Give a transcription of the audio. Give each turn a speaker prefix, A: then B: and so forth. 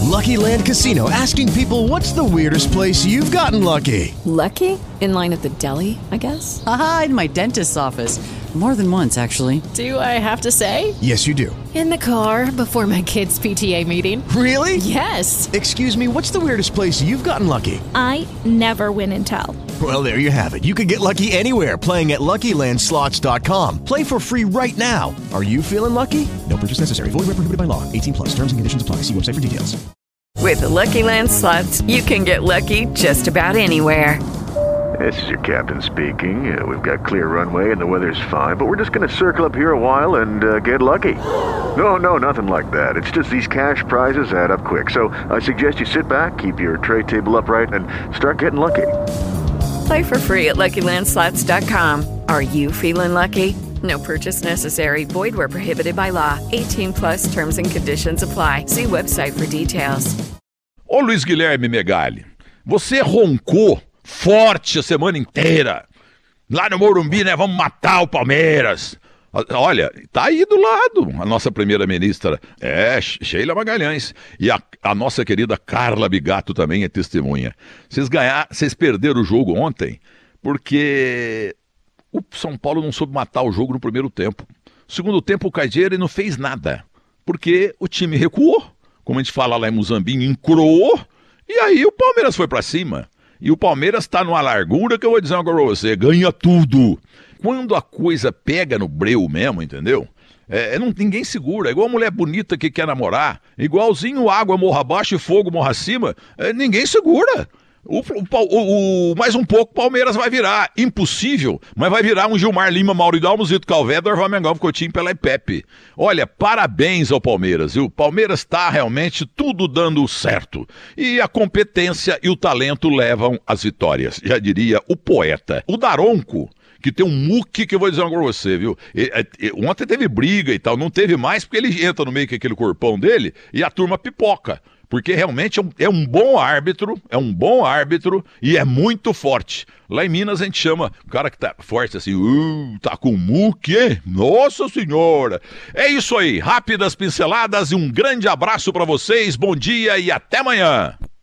A: Lucky Land Casino, asking people, what's the weirdest place you've gotten lucky?
B: Lucky? In line at the deli, I guess?
C: Aha, in my dentist's office. More than once, actually.
B: Do I have to say?
A: Yes, you do.
B: In the car before my kids' PTA meeting.
A: Really?
B: Yes.
A: Excuse me, what's the weirdest place you've gotten lucky?
D: I never win and tell.
A: Well, there you have it. You can get lucky anywhere, playing at LuckyLandSlots.com. Play for free right now. Are you feeling lucky? No purchase necessary. Void where prohibited by law. 18 plus. Terms and conditions apply. See website for details.
E: With the Lucky Land Slots, you can get lucky just about anywhere.
F: This is your captain speaking. We've got clear runway and the weather's fine, but we're just going to circle up here a while and get lucky. No, nothing like that. It's just these cash prizes add up quick. So I suggest you sit back, keep your tray table upright, and start getting lucky.
E: Play for free at LuckyLandSlots.com. Are you feeling lucky? No purchase necessary. Void where prohibited by law. 18 plus terms and conditions apply. See website for details.
G: Ô Luiz Guilherme Megali, você roncou forte a semana inteira. Lá no Morumbi, né? Vamos matar o Palmeiras. Olha, tá aí do lado a nossa primeira-ministra, Sheila Magalhães. E a nossa querida Carla Bigato também é testemunha. Vocês perderam o jogo ontem porque o São Paulo não soube matar o jogo no primeiro tempo. No segundo tempo, o Cagliari não fez nada, porque o time recuou, como a gente fala lá em Muzambinho, encroou, e aí o Palmeiras foi pra cima. E o Palmeiras tá numa largura que eu vou dizer uma coisa pra você, ganha tudo. Quando a coisa pega no breu mesmo, entendeu? Ninguém segura, é igual a mulher bonita que quer namorar, igualzinho água morra abaixo e fogo morra acima, ninguém segura. Mais um pouco o Palmeiras vai virar, impossível, mas vai virar um Gilmar Lima, Mauridalmo, Zito Calvé, Dorval Mengão, Coutinho, Pelé e Pepe. Olha, parabéns ao Palmeiras, viu? O Palmeiras está realmente tudo dando certo. E a competência e o talento levam às vitórias, já diria o poeta. O Daronco, que tem um muque que eu vou dizer uma coisa pra você, viu? Ontem teve briga e tal, não teve mais porque ele entra no meio com aquele corpão dele e a turma pipoca. Porque realmente é um bom árbitro e é muito forte. Lá em Minas a gente chama o cara que tá forte assim, tá com muque, hein? Nossa Senhora! É isso aí, rápidas pinceladas e um grande abraço pra vocês, bom dia e até amanhã!